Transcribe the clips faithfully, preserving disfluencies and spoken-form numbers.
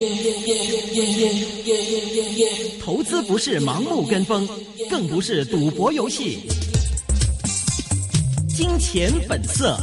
投資不是盲目跟風，更不是賭博遊戲。金錢本色。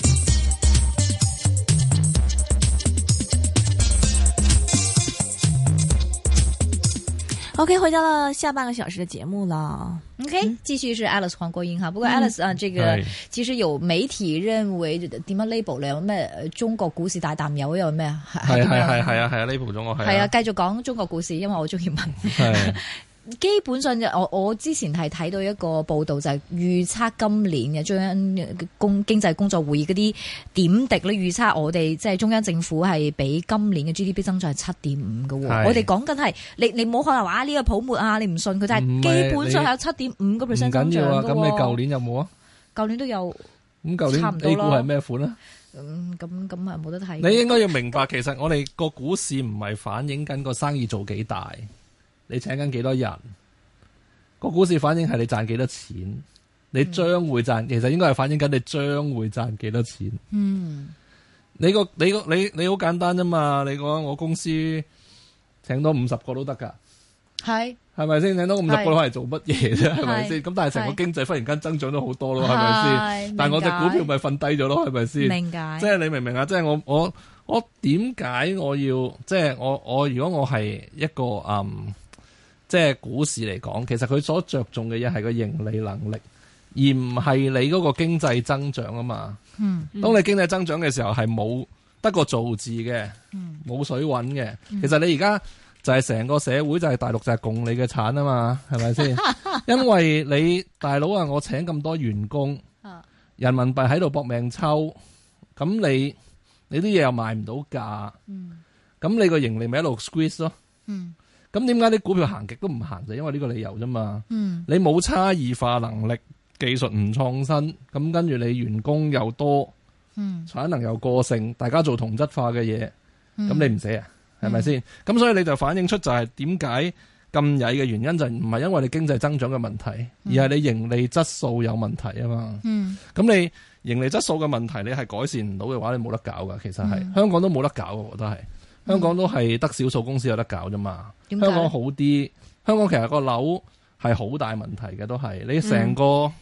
OK， 回到了下半個小時的節目了。 OK，、嗯、繼續是 Alice 黃國英哈。不過 Alice、嗯、啊，這個其實有媒體認為點樣 label 咧？有咩中國股市大淡友有咩？ 係係係係啊係啊 label 中國係。係啊， 繼續講中國股市，因為我中意問。係。基本上就我我之前係睇到一個報道，就係預測今年嘅中央工經濟工作會議嗰啲點滴咧，預測我哋即係中央政府係比今年嘅 G D P 增長係七點五嘅。我哋講緊係你你冇可能話呢個泡沫啊，你唔信佢，就係基本上係有七點五個 percent 增長嘅。 唔緊要啊，咁你舊年有冇啊？舊年都有。 咁舊年 A 股係咩款啊？ 咁咁咁啊冇得睇。 你應該要明白，其實我哋個股市唔係反映緊個生意做幾大，你請緊幾多人。個股市反映係你賺幾多錢，你將會賺，嗯、其實應該係反映緊你將會賺幾多錢。嗯，你個你個你你好簡單啫嘛，你講我公司請多五十個都得噶，係係咪先？請多五十個攞嚟做乜嘢啫？係咪先？咁但係成個經濟忽然間增長咗好多咯，係咪先？但係我隻股票咪瞓低咗咯，係咪先？明解，即係你明唔明啊？即係我我我點解我要即係我我如果我係一個嗯。即係股市嚟講，其實佢所着重嘅嘢係個盈利能力，而唔係你嗰個經濟增長啊嘛。嗯，當你經濟增長嘅時候係冇得個造字嘅，冇、嗯、水穩嘅。其實你而家就係成個社會就係大陸就係共你嘅產啊嘛，係咪先？因為你大佬啊，我請咁多員工，人民幣喺度搏命抽，咁你你啲嘢又賣唔到價，咁、嗯、你個盈利咪一路 squeeze 咯。嗯。咁點解啲股票行極都唔行？就因為呢個理由啫嘛。嗯，你冇差異化能力，技術唔創新，咁跟住你員工又多，嗯，產能又過剩，大家做同質化嘅嘢，咁、嗯、你唔死啊？係咪先？咁、嗯、所以你就反映出就係點解咁曳嘅原因就唔係因為你經濟增長嘅問題，嗯、而係你盈利質素有問題啊嘛。嗯，咁你盈利質素嘅問題你係改善唔到嘅話，你冇得搞噶。其實係、嗯、香港都冇得搞，我覺得係。香港都係得少數公司有得搞啫嘛，香港好啲。香港其實個樓係好大問題嘅，都係你成個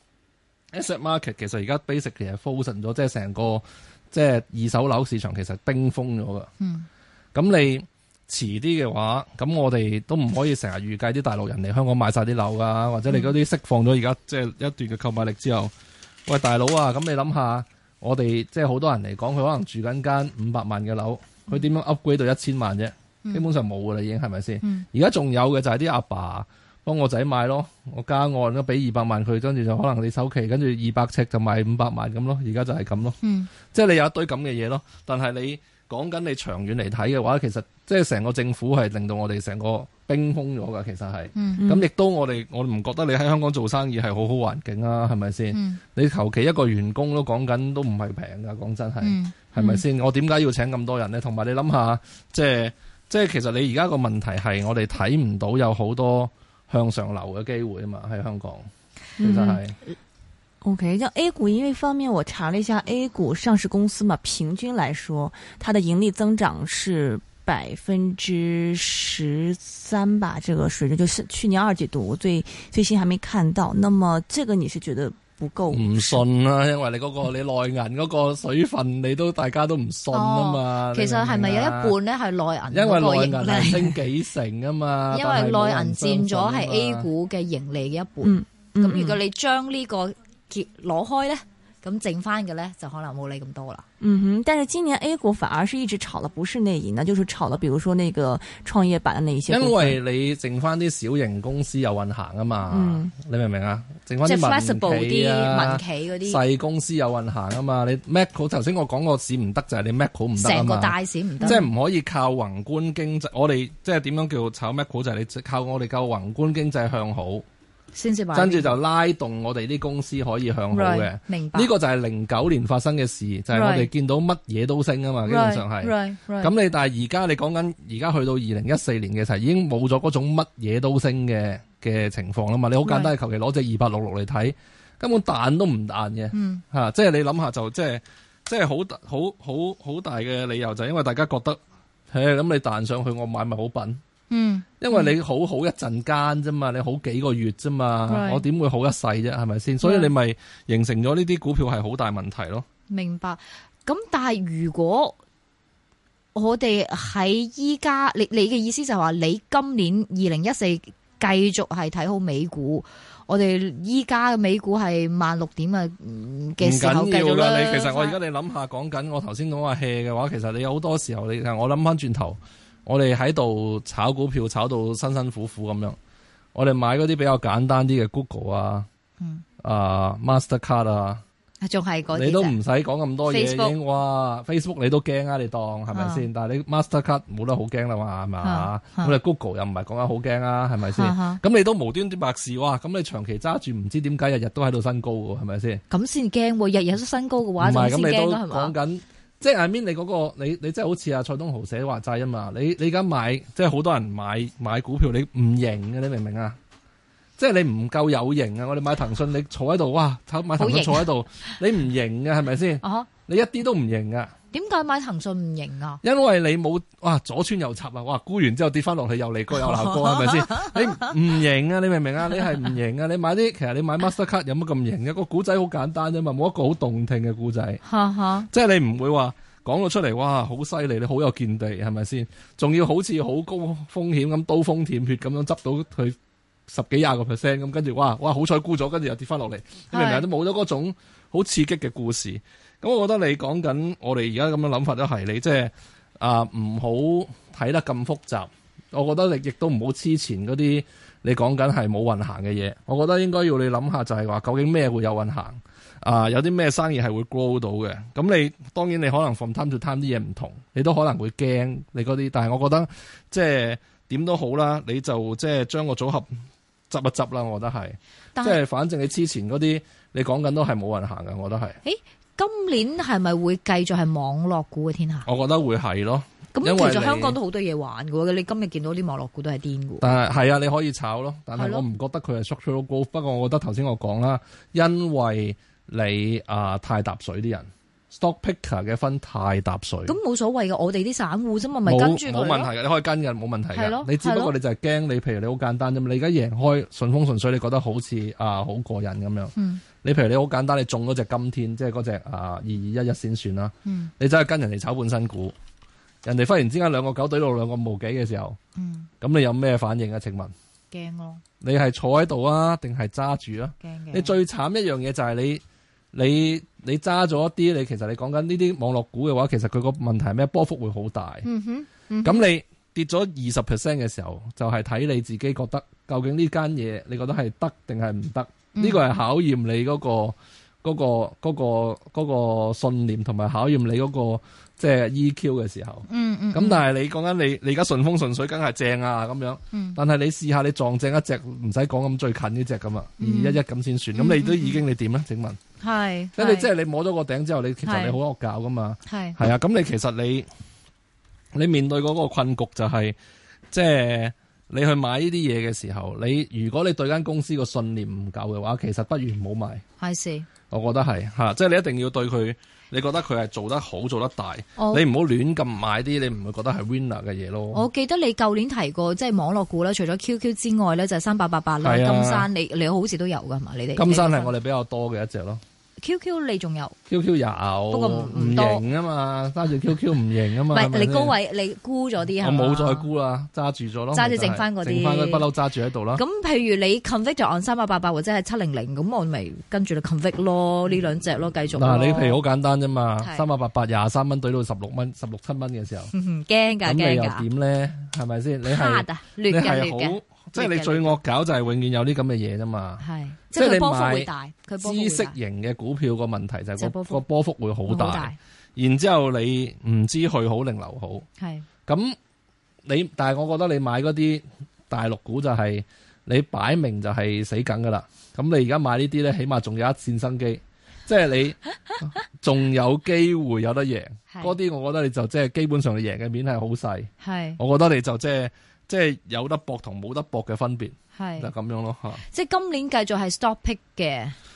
asset market 其實而家 basic 其實 frozen 咗，即係成個即係二手樓市場其實冰封咗噶。嗯，咁你遲啲嘅話，咁我哋都唔可以成日預計啲大陸人嚟香港買晒啲樓噶，或者你嗰啲釋放咗而家即係一段嘅購買力之後，喂大佬啊，咁你諗下，我哋即係好多人嚟講，佢可能住緊間五百萬嘅樓。佢點樣 upgrade 到一千萬啫？基本上冇噶啦，已經係咪先？而家仲有嘅就係啲阿爸幫我仔買咯，我加按都俾二百萬佢，跟住就可能你首期跟住二百尺就賣五百萬咁咯。而家就係咁咯，嗯、即係你有一堆咁嘅嘢咯。但係你講緊你長遠嚟睇嘅話，其實即係成個政府係令到我哋成個冰封咗噶。其實係，咁亦、嗯嗯、都我哋我唔覺得你喺香港做生意係好好環境啊？係咪先？嗯、你求其一個員工都講緊都唔係平噶，講真係。嗯係咪先？我點解要請咁多人呢？同埋你諗下，即係即係，其實你而家個問題係我哋睇唔到有好多向上流嘅機會啊嘛，喺香港，其實係。 嗯、OK， 像 A 股，因為方面我查了一下 A 股上市公司嘛，平均來說，它的盈利增長是百分之十三吧，這個水準就是去年二季度最最新還沒看到。那麼這個你是覺得？ 唔信啊，因為你嗰、嗰個你內銀嗰個水分，你都大家都唔信啊嘛。 哦、其實係咪有一半咧係內銀？ 因為內銀係升幾成啊嘛。 因為內銀佔咗係 A 股嘅盈利嘅一半。咁、嗯嗯、如果你將呢個結攞開咧，咁剩翻嘅咧就可能冇你咁多啦。 嗯哼，但是今年 A 股反而是一直炒的不是內銀，那就是炒了，比如說那個創業板的那一些。因為你剩翻啲小型公司有運行啊嘛，嗯、你明唔明啊？剩翻啲民企啊、民企嗰啲細公司有運行啊嘛。你 Macro 頭先我講個市唔得就係、是、你 Macro 唔得啊嘛。成個大市唔得，即係唔可以靠宏觀經濟。我哋即係點樣叫炒 Macro 就係你靠我哋靠宏觀經濟向好。跟住就拉動我哋啲公司可以向好嘅，right, 明白。呢個就係零九年發生嘅事，就係、是、我哋見到乜嘢都升啊嘛，right, 基本上係。咁 right, right, 你但係而家你講緊而家去到二零一四年嘅時候，已經冇咗嗰種乜嘢都升嘅嘅情況啦嘛。你好簡單，求其攞隻二八六六嚟睇，根本彈都唔彈嘅，嚇、嗯啊！即係你諗下就即係即係好好好好大嘅理由，就係因為大家覺得。 誒，咁你彈上去，我買咪好笨？ 嗯， 因為你好好一陣間啫嘛，你好幾個月啫嘛， Right. 我點會好一世啫？係咪先？所以你咪形成咗呢啲股票係好大問題咯。 明白。咁但係如果我哋喺依家，你你嘅意思就係話，你今年二零一四繼續係睇好美股，我哋依家嘅美股係萬六點啊嘅時候繼續啦。 你其實我而家你諗下，講緊我頭先講話 hea 嘅話，其實你有好多時候你我諗翻轉頭。我哋喺度炒股票炒到辛辛苦苦咁樣，我哋買嗰啲比較簡單啲嘅 Google 啊，嗯、啊 Mastercard 啊， 仲係嗰啲， 你都唔使講咁多嘢 Facebook 已經，哇 Facebook 你都驚啊，你當係咪先？但係你 Mastercard 冇得好驚啦嘛，係嘛？咁你 Google 又唔係講緊好驚啊，係咪先？咁你都無端端白事哇，咁你長期揸住唔知點解日日都喺度新高嘅，係咪先？ 咁先驚喎，日日都新高嘅話就先驚啦，係嘛？ 講緊。即係 I mean 你嗰、嗰個你你即係好似阿蔡東豪寫話齋啊嘛，你你而家買即係好多人買買股票，你唔型嘅，你明唔明啊？即係你唔夠有型啊！我哋買騰訊，你坐喺度，哇，買騰訊坐喺度，你唔型嘅係咪先？啊、你一啲都唔型噶。 點解買騰訊唔型啊？ 因為你冇哇左穿右插啊！哇沽完之後跌翻落去又嚟過又鬧過係咪先？你唔型啊！你明唔明啊？你係唔型啊！你買啲其實你買 Mastercard 有乜咁型嘅？個古仔好簡單啫嘛，冇一個好動聽嘅古仔。即係你唔會話講到出嚟，哇好犀利，你好有見地係咪先？仲要好似好高風險咁刀鋒舔血咁樣執到佢十幾廿個 percent 咁，跟住哇哇好彩沽咗，跟住又跌翻落嚟，你明唔明？都冇咗嗰種好刺激嘅故事。咁我覺得你講緊我哋而家咁樣諗法都係你即係啊唔好睇得咁複雜。我覺得你亦都唔好黐前嗰啲你講緊係冇運行嘅嘢。我覺得應該要你諗下就係話究竟咩會有運行啊？有啲咩生意係會 grow 到嘅？咁你當然你可能 from time to time 啲嘢唔同，你都可能會驚你嗰啲。但係我覺得即係點都好啦，你就即係將個組合執一執啦。我覺得係即係反正你黐前嗰啲你講緊都係冇運行嘅。我覺得係。誒今年係咪會繼續係網絡股嘅天下？ 我覺得會係咯。 咁其實香港都好多嘢玩嘅喎，你今日見到啲網絡股都係癲嘅。 但係係啊，你可以炒咯，但係我唔覺得佢係 structural growth。不過我覺得頭先我講啦，因為你啊、呃、太搭水啲人 stock picker 嘅分太搭水。咁冇所謂嘅，我哋啲散戶啫嘛，咪跟住佢咯。 冇問題嘅，你可以跟嘅，冇問題嘅。 咯， 你只不過你就係驚你，譬如你好簡單啫嘛。你而家贏開順風順水，你覺得好似啊好過癮咁樣。嗯你譬如你好簡單，你中嗰隻金天，即係嗰隻啊二二一一先算啦。嗯、你走去跟人哋炒半新股，人哋忽然之間兩個九對到兩個無幾嘅時候，咁、嗯、你有咩反應啊？請問？ 驚咯！ 你係坐喺度啊，定係揸住啊？驚嘅。你最慘一樣嘢就係你你你揸咗一啲，你其實你講緊呢啲網絡股嘅話，其實佢個問題係咩？波幅會好大。咁、嗯哼嗯、你跌咗二十 percent 嘅時候，就係、是、睇你自己覺得究竟呢間嘢，你覺得係得定係唔得？呢個係考驗你嗰、嗰個嗰、嗰個嗰、嗰個嗰個信念，同埋考驗你嗰、嗰個即係 E Q 嘅時候。嗯嗯。咁、嗯、但係你講緊你你而家順風順水，梗係正啊咁樣。嗯、但係你試下你撞正一隻，唔使講咁最近呢隻咁啊，二一一咁先算。咁、嗯、你都已經你點咧？請問？係。即係你即係你摸咗個頂之後，你其實你好惡搞噶嘛。係。係啊，咁你其實你你面對嗰個困局就係、是、即係。你去買呢啲嘢嘅時候，你如果你對間公司個信念唔夠嘅話，其實不如唔好買。係是，我覺得係吓，即係你一定要對佢，你覺得佢係做得好、做得大，我你唔好亂咁買啲你唔會覺得係 winner 嘅嘢咯。我記得你舊年提過，即係網絡股啦，除咗 Q Q 之外咧，就係三八八八啦、金山，你你好似都有噶係嘛？你哋金山係我哋比較多嘅一隻咯。Q Q 你仲有 Q Q 有，不過唔型啊嘛，揸住 Q Q 唔型啊嘛。唔係你高位你沽咗啲係嘛？我冇再沽啦，揸住咗咯，揸住剩翻嗰啲，剩翻嗰不嬲揸住喺度啦。咁譬如你 convict 就按三八八八或者係七零零，咁我咪跟住你 convict 咯，呢兩隻咯，繼續。嗱，你譬如好簡單啫嘛，三八八八廿三蚊懟到十六蚊，十六七蚊嘅時候，驚㗎驚㗎。咁你又點咧？係咪先？你係你係好。即係你最惡搞就係永遠有啲咁嘅嘢啫嘛，係即係你買知識型嘅股票個問題就係個個波幅會好大，大然之後你唔知去好定留好，係咁是你但係我覺得你買嗰啲大陸股就係、是、你擺明就係死梗噶啦，咁你而家買呢啲咧起碼仲有一線生機，即係你仲有機會有得贏，嗰啲是我覺得你就即係基本上你贏嘅面係好細，係是我覺得你就即係。即係有得搏同冇得搏嘅分別，係就咁樣咯吓。即係今年繼續係 stock pick 嘅。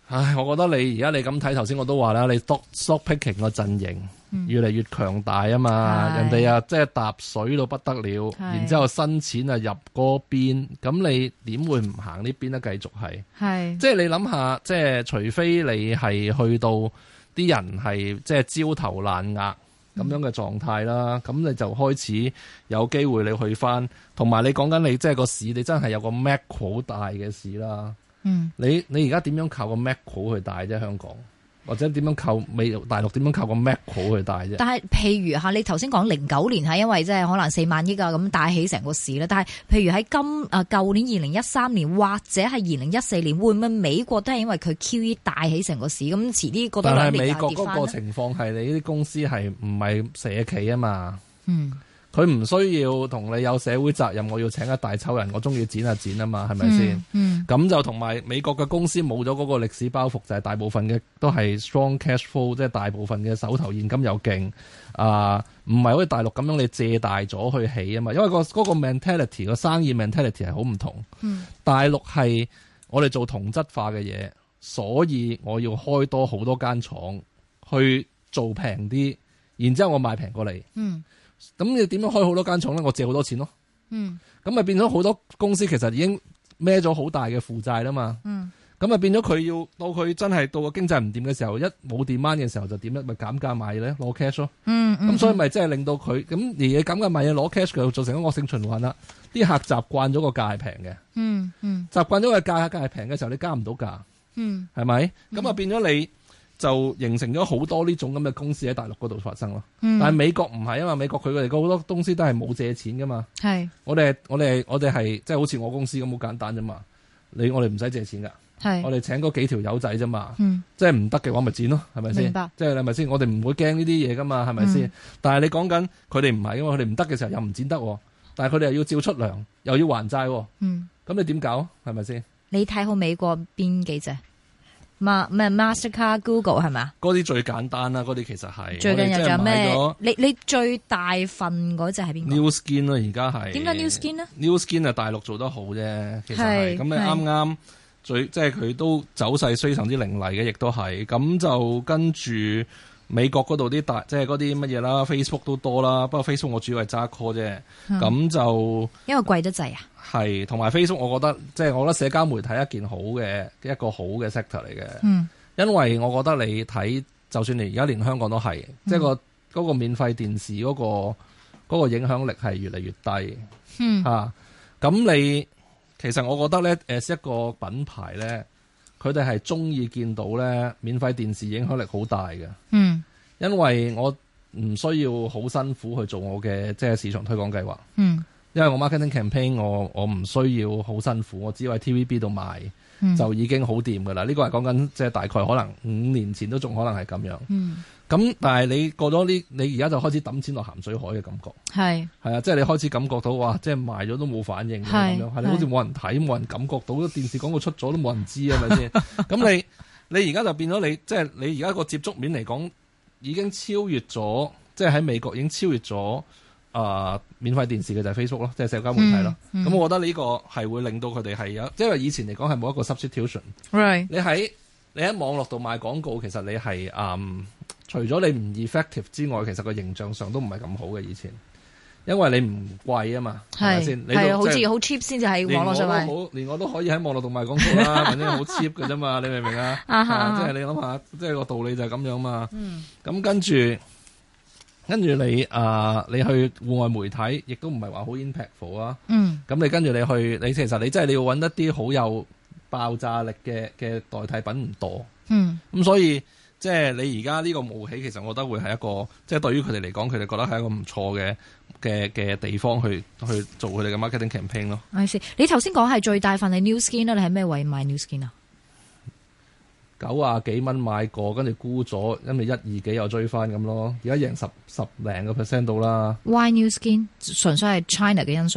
唉，我覺得你而家你咁睇，頭先我都話啦，你 stock stock picking 個陣營越嚟越強大啊嘛，嗯、人哋啊即係搭水到不得了，是然之後新錢啊入嗰邊，咁你點會唔行呢邊咧？繼續係，係即係你諗下，即係除非你係去到啲人係即係焦頭爛額咁樣嘅狀態啦，咁、嗯、你就開始有機會你去翻，同埋你講緊你即係個市，你真係有個 macro 好大嘅市啦。嗯，你你而家點樣靠個 macro 去大啫？香港或者點樣靠美大陸點樣靠個 macro 去大啫？ 但係譬如吓，你頭先講零九年係因為即係可能四萬億啊咁帶起成個市啦。但係譬如喺今啊舊年二零一三年或者係二零一四年，會唔會美國都係因為佢 Q E 帶起成個市？咁遲啲覺得兩年又跌翻咧？但係美國嗰個情況係你啲公司係唔係社企啊嘛？嗯。佢唔需要同你有社會責任，我要請一大抽人，我中意剪就剪啊嘛，係咪先？咁、嗯嗯、就同埋美國嘅公司冇咗嗰個歷史包袱，就係、是、大部分嘅都係 strong cash flow，即係大部分嘅手頭現金又勁啊，唔係好似大陸咁樣你借大咗去起啊嘛，因為、那個嗰、那個 mentality 個生意 mentality 係好唔同。嗯、大陸係我哋做同質化嘅嘢，所以我要開多好多間廠去做平啲，然之後我賣平過你。嗯咁你點樣開好多間廠咧？我借好多錢咯。嗯，咁咪變咗好多公司其實已經孭咗好大嘅負債啦嘛。嗯，咁咪變咗佢要到佢真係到個經濟唔掂嘅時候，一冇 demand嘅時候就點咧？咪減價賣嘢咧，攞 cash 咯。嗯嗯，咁所以咪即係令到佢咁而嘢減價賣嘢攞 cash，佢就造成一個惡性循環啦。啲客習慣咗個價係平嘅。嗯嗯，習慣咗個價價係平嘅時候，你加唔到價。嗯，係咪？咁啊變咗你。就形成咗好多呢種咁嘅公司喺大陸嗰度發生咯。嗯、但係美國唔係啊嘛，美國佢哋好多公司都係冇借錢噶嘛。係是，我哋我哋我哋係即係好似我公司咁好簡單啫嘛。你我哋唔使借錢噶，係是，我哋請嗰幾條友仔啫嘛。嗯、即係唔得嘅話咪剪咯，係咪先？明白。即係係咪先？我哋唔會驚呢啲嘢噶嘛，係咪先？嗯、但係你講緊佢哋唔係噶嘛，佢哋唔得嘅時候又唔剪得，但係佢哋又要照出糧，又要還債。嗯，咁你點搞？係咪先？你睇好美國邊幾隻？咩 Mastercard、Google 係咪啊？嗰啲最簡單啦，嗰啲其實係最近又有咩？你你最大份嗰隻係邊個 ？New Skin 咯，而家係點解 New Skin 呢 New Skin 係大陸做得好啫，其實係咁你啱啱最即係佢都走勢非常之凌厲嘅，亦都係咁就跟住美國嗰度啲大即係嗰啲乜嘢啦 ，Facebook 都多啦，不過 Facebook 我主要係揸 call 啫，咁、嗯、就因為貴得滯啊。係，同埋 Facebook，我覺得即係、就是、我覺得社交媒體一件好嘅一個好嘅 sector 嚟嘅。嗯，因為我覺得你睇，就算你而家連香港都係，嗯、即係個嗰個免費電視嗰、那個嗰、那個影響力係越嚟越低。嗯，嚇、啊，咁你其實我覺得咧，誒一個品牌咧，佢哋係中意見到咧免費電視影響力好大嘅。嗯，因為我唔需要好辛苦去做我嘅即係市場推廣計劃。嗯。因為我 marketing campaign 我我唔需要好辛苦，我只要喺 T V B 度賣、嗯、就已經好掂噶啦。呢、這個係講緊即係大概可能五年前都仲可能係咁樣。咁、嗯、但係你過咗呢，你而家就開始抌錢落鹹水海嘅感覺。係係啊，即係你開始感覺到哇，即係賣咗都冇反應咁樣，係你好似冇人睇，冇人感覺到電視廣告出咗都冇人知係咪先？咁你你而家就變咗你即係你而家個接觸面嚟講已經超越咗，即係喺美國已經超越咗。啊、呃！免費電視嘅就係 Facebook 咯，即係社交媒體咯。咁、嗯嗯、我覺得呢個係會令到佢哋係有，因為以前嚟講係冇一個 substitution。Right. 你喺你喺網絡度賣廣告，其實你係嗯，除咗你唔 effective 之外，其實個形象上都唔係咁好嘅以前，因為你唔貴啊嘛，係咪先？係啊，好似好 cheap 先至喺網絡上賣。連我都好，連我都可以喺網絡度賣廣告啦，反正好 cheap 嘅啫嘛，你明唔明啊？即係你諗下，即係個道理就係咁樣嘛。嗯。咁跟住。跟住你啊、呃，你去戶外媒體，亦都唔係話好 impactful 啊。嗯。咁你跟住你去，你其實你真係你要揾一啲好有爆炸力嘅嘅代替品唔多。嗯。咁所以即係你而家呢個冒起，其實我覺得會係一個，即係對於佢哋嚟講，佢哋覺得係一個唔錯嘅嘅嘅地方去去做佢哋嘅 marketing campaign 咯。I see。你頭先講係最大份係 New Skin 啦，你喺咩位買 New Skin 啊？九啊幾蚊買過，跟住沽咗，因為一二幾又追翻咁咯。而家贏十十零個 percent 到啦。Why New Skin？純粹係 China 嘅因素。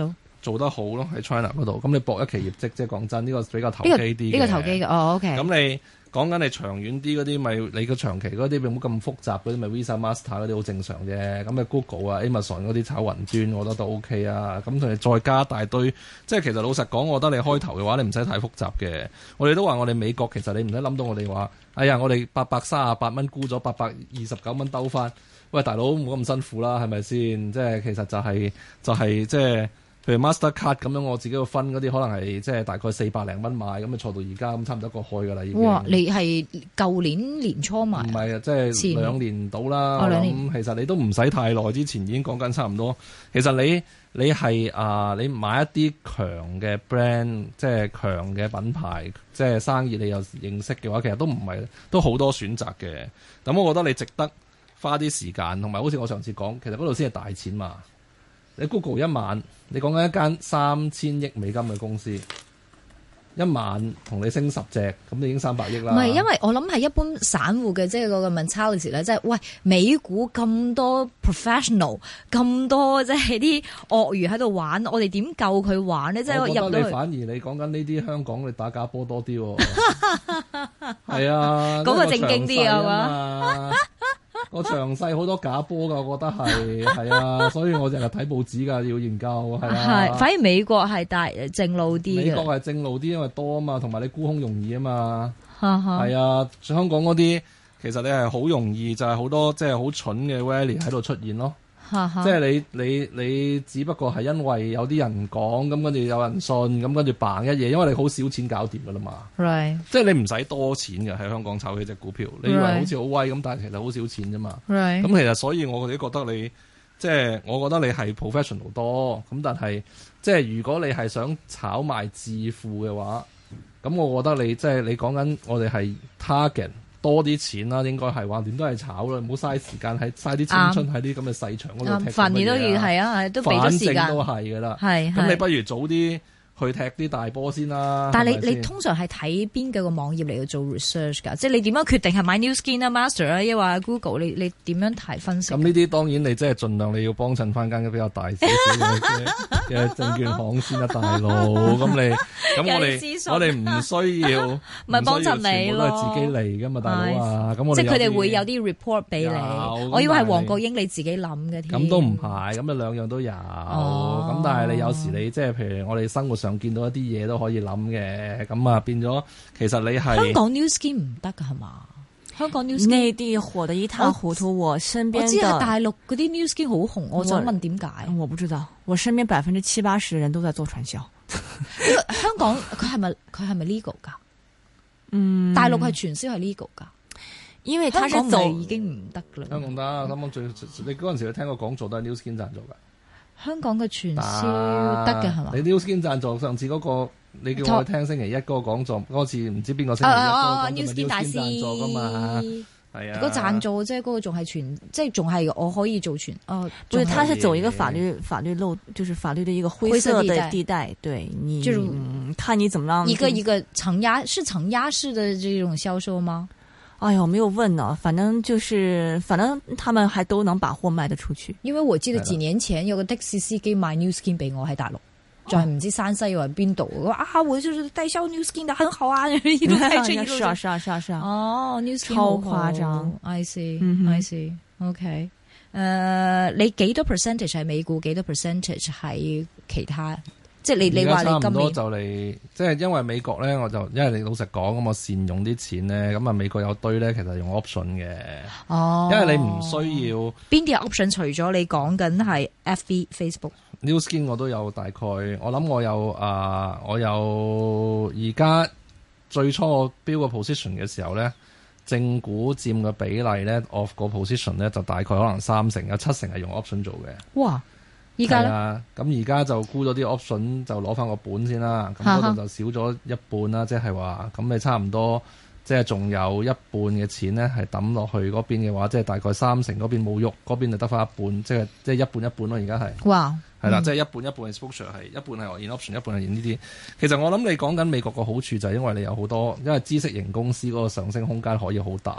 做得好咯喺 China 嗰度。咁你搏一期業績，即係講真，呢、這個比較投機啲嘅。 呢、這個投機嘅，哦 OK。 咁你講緊你長遠啲嗰啲，咪你個長期嗰啲冇咁複雜嗰啲，咪 Visa、Master 嗰啲好正常啫。咁咪 Google 啊、Amazon 嗰啲炒雲端，我覺得都 OK 啊。咁同你再加大堆，即係其實老實講，我覺得你開頭嘅話，你唔使太複雜嘅。我哋都話我哋美國其實你唔使諗到我哋話，哎呀，我哋八百三十八蚊沽咗八百二十九蚊兜翻。喂，大佬冇咁辛苦啦，係咪先？即係其實就係、是、就係、是、即係，譬如 Mastercard 咁樣，我自己個分嗰啲可能係即係大概四百零蚊買，咁啊坐到而家咁差唔多一個開噶啦已經。 哇！你係舊年年初買？唔係啊，即係兩年到啦。 哦，兩年。咁其實你都唔使太耐之前已經講緊差唔多。其實你你係啊、呃，你買一啲強嘅 brand，即係強嘅品牌，即係生意你又認識嘅話，其實都唔係都好多選擇嘅。咁我覺得你值得花啲時間，同埋好似我上次講，其實嗰度先係大錢嘛。你 Google 一晚，你講緊一間三千億美金嘅公司，一晚同你升十隻，咁你已經三百億啦。 唔係，因為我諗係一般散戶嘅，即係嗰個 mentality 咧，即係喂美股咁多 professional， 咁多即係啲鱷魚喺度玩，我哋點夠佢玩呢？即係入到去。 反而你講緊呢啲香港，你打假波多啲喎。係啊， 嗰個正經啲啊嘛。 個詳細好多假波㗎，我覺得係係啊，所以我成日睇報紙㗎，要研究係啊。 係，反而美國係大正路啲。 美國係正路啲，因為多啊嘛，同埋你沽空容易啊嘛。係啊，香港嗰啲其實你係好容易，就係、是、好多即係好蠢嘅 rally 喺度出現咯。即係你你你只不過係因為有啲人講，咁跟住有人信，咁跟住嘭一嘢，因為你好少錢搞掂噶啦嘛。 Right. 即係你唔使多錢嘅喺香港炒起隻股票，你以為好似好威咁，但係其實好少錢啫嘛。咁 Right. 其實所以我哋覺得你即係我覺得你係 professional 多，咁但係即係如果你係想炒賣致富嘅話，咁我覺得你即係你講緊我哋係 target。多啲錢啦，應該係話點都係炒啦，唔好嘥時間喺嘥啲青春喺啲咁嘅細場嗰度踢。 反而都要係啊，都俾咗時間。 反正都係噶啦， 係咁你不如早啲去踢啲大波先啦。 但係你你通常係睇邊幾個網頁嚟去做 research 㗎？即係你點樣決定係買 New Skin 啊、Master 啊，抑或 Google？你你點樣睇分析？ 咁呢啲當然你即係盡量你要幫襯翻間比較大少少嘅嘅證券行先啦，大佬。咁你咁我哋我哋唔需要，唔係幫襯你咯， 都係自己嚟㗎嘛，大佬啊。咁我哋即係佢哋會有啲 report 俾你。我以為係黃國英你自己諗嘅添。 咁都唔係，咁啊兩樣都有。咁、哦、但係你有時你即係譬如我哋生活上見到一啲嘢都可以諗嘅，咁啊變咗其實你係香港 New Skin 唔得㗎係嘛？香港 New Skin 內地火得一塌糊塗，我身邊我知係大陸嗰啲 New Skin 好紅，我想問點解？ 我不知道，我身邊百分之七八十嘅人都在做傳銷。 香港佢係咪佢係咪 legal 㗎？嗯，大陸係傳銷係 legal 㗎，因為香港就已經唔得㗎啦。 香港得，香港最你嗰陣時你聽我講座都係 New Skin 贊助㗎。香港嘅傳銷得嘅係嘛？ 你 New Skin 贊助上次嗰、那個，你叫我去聽星期一嗰個講座，嗰次唔知邊個星期一嗰個 New Skin 大師贊助㗎嘛？係啊， 嗰贊助即係嗰個仲係傳，即係仲係我可以做傳。哦， 對，他是走一個法律法律漏，就是法律的一個灰色的地帶。對你，就嗯、看你怎麼樣。 一個一個承壓是承壓式的這種銷售嗎？ 哎呀，我沒有問呢，反正就是，反正他們還都能把貨賣得出去。 因為我記得幾年前有個的士司機賣 New Skin 俾我喺大陸，仲係唔知山西或邊度。我話啊，我就是代銷 New Skin 的，很好啊，一路開車一路。 是啊是啊是啊是啊。 哦 ，New Skin 超誇張。 I see，I see，OK。誒，你幾多 percentage 係美股，幾多 percentage 係其他？即係你你話你今年就嚟，即係因為美國咧，我就因為你老實講咁，我善用啲錢咧，咁啊美國有堆咧，其實用 option 嘅。哦，因為你唔需要邊啲係 option？除咗你講緊係 F B Facebook、New Skin 我都有大概，我諗我有啊、呃，我有而家最初我標個 position 嘅時候咧，正股佔嘅比例咧 of 個 position 咧就大概可能三成，有七成係用 option 做嘅。 哇！依家咧， 咁而家就沽咗啲 option 就攞翻個本先啦，咁嗰度就少咗一半啦，即係話咁你差唔多，即係仲有一半嘅錢咧係抌落去嗰邊嘅話，即係大概三成嗰邊冇喐，嗰邊就得翻一半，即係即係一半一半咯。而家係， 哇， 係啦，即係一半一半 exposure 係一半係 in option，一半係 in 呢啲。其實我諗你講緊美國個好處就係因為你有好多，因為知識型公司嗰個上升空間可以好大。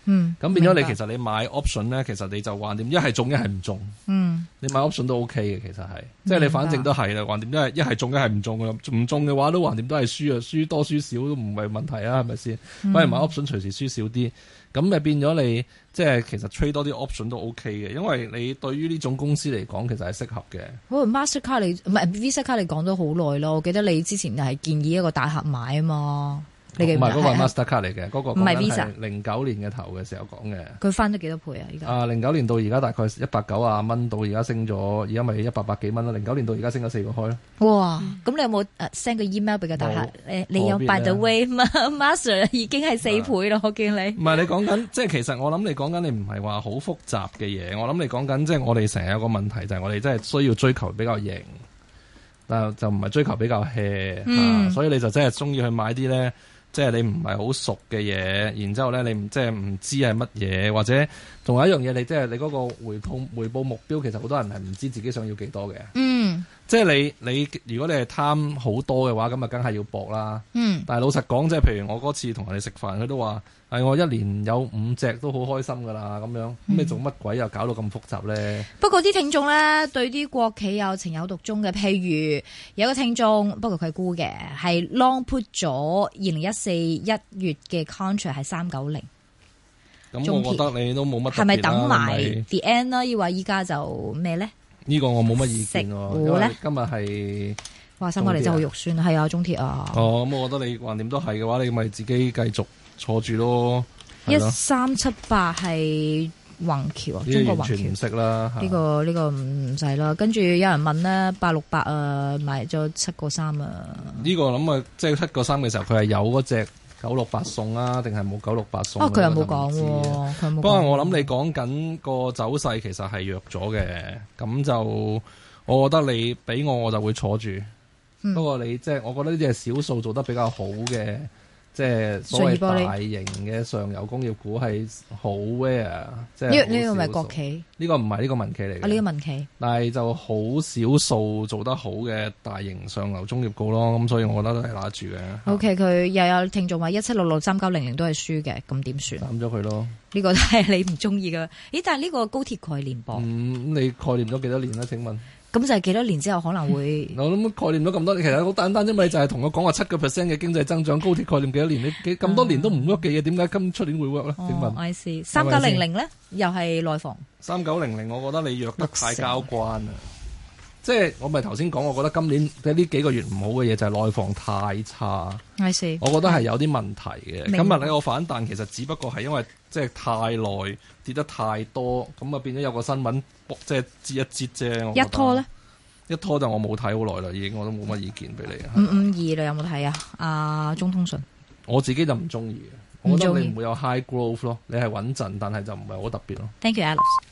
嗯， 咁變咗你明白其實你買 option 咧，其實你就橫掂一係中一係唔中。 嗯， 你買 option 都 OK 嘅，其實係，即係你反正都係啦，橫掂都係一係中一係唔中嘅，唔中嘅話都橫掂都係輸啊，輸多輸少都唔係問題啊，係咪先？反而買 option 隨時輸少啲，咁咪變咗你即係其實 trade 多啲 option 都 OK 嘅，因為你對於呢種公司嚟講，其實係適合嘅。 哦 Mastercard 你唔係 Visa 卡你講咗好耐咯，我記得你之前係建議一個大客買啊嘛。你記唔記得？ 唔係嗰個係 Mastercard 嚟嘅，嗰、嗰個唔係 Visa， 零九年嘅頭嘅時候講嘅。 佢翻咗幾多倍啊？依家啊，零九年到而家大概一百九啊蚊到而家升咗，而家咪一百百幾蚊啦。零九年到而家升咗四個開咯。 哇！咁你有冇誒 send 個 email 俾個大客？誒，你有邊 by the way Master 已經係四倍咯，我見你。 唔係你講緊，即係其實我諗你講緊你唔係話好複雜嘅嘢。我諗你講緊即係我哋成日有個問題就係我哋真係需要追求比較型，但就唔係追求比較 hea、 嗯啊、所以你就真係中意去買啲咧。即係你唔係好熟嘅嘢，然之後咧你唔即係唔知係乜嘢，或者仲有一樣嘢，你即係你嗰個回報回報目標，其實好多人係唔知自己想要幾多嘅。 嗯， 即係你你如果你係貪好多嘅話，咁啊梗係要搏啦。 嗯， 但係老實講，即係譬如我嗰次同人哋食飯，佢都話係我一年有五隻都好開心㗎啦，咁樣咁你做乜鬼又搞到咁複雜咧？ 不過啲聽眾咧對啲國企有情有獨鍾嘅，譬如有個聽眾，不過佢係沽嘅，係 long put 咗二零一四一月嘅 contract 係三九零。 咁我覺得你都冇乜特別啦。 係咪等埋係 the end 啦？抑或依家就咩咧？ 呢個我冇乜意見喎， 食糊咧因為今日係哇，三九零真係好肉酸，係啊，中鐵啊。 哦，咁我覺得你橫掂都係嘅話，你咪自己繼續坐住咯。 一三七八係宏橋啊，中國宏橋完全唔識啦。 呢個呢個唔使啦。跟住有人問咧，八六八啊，買咗七個三啊。 呢個諗啊，即係七個三嘅時候，佢係有嗰隻九六八送啊，定係冇九六八送？ 哦，佢又冇講喎，佢冇。 不過我諗你講緊個走勢其實係弱咗嘅，咁就我覺得你俾我我就會坐住。 嗯、 不過你即係我覺得呢啲係少數做得比較好嘅。即係所謂大型嘅上游工業股係好 rare，即係呢呢個咪國企？ 呢個唔係呢個民企嚟嘅。 啊，呢個民企， 但係就好少數做得好嘅大型上游工業股咯，咁所以我覺得都係拿住嘅。 O K，佢又有聽眾話一七六六三九零零都係輸嘅，咁點算？ 斬咗佢咯。 呢個都係你唔中意嘅。咦？但係呢個高鐵概念噃？ 嗯，你概念咗幾多年啦？請問？ 咁就係幾多年之後可能會？ 我諗概念咗咁多年，其實好簡單啫嘛，就係同我講話七個 percent 嘅經濟增長，高鐵概念幾多年？你幾咁多年都唔 work 嘅嘢，點解今出年會 work 咧？請問 I see 三九零零咧，又係內房。 三九零零，我覺得你弱得太交關啦。即係我咪頭先講，我覺得今年嘅呢幾個月唔好嘅嘢就係內房太差。 I see 我覺得係有啲問題嘅。 明白。 今日呢個反彈其實只不過係因為即係太耐跌得太多，咁啊變咗有個新聞即係折一折啫。 一拖咧？ 一拖就我冇睇好耐啦，已經我都冇乜意見俾你。 五五二你有冇睇啊？啊，中通訊我自己就唔中意嘅，我覺得你唔會有 high growth 咯，你係穩陣，但係就唔係好特別咯。 Thank you, Alex。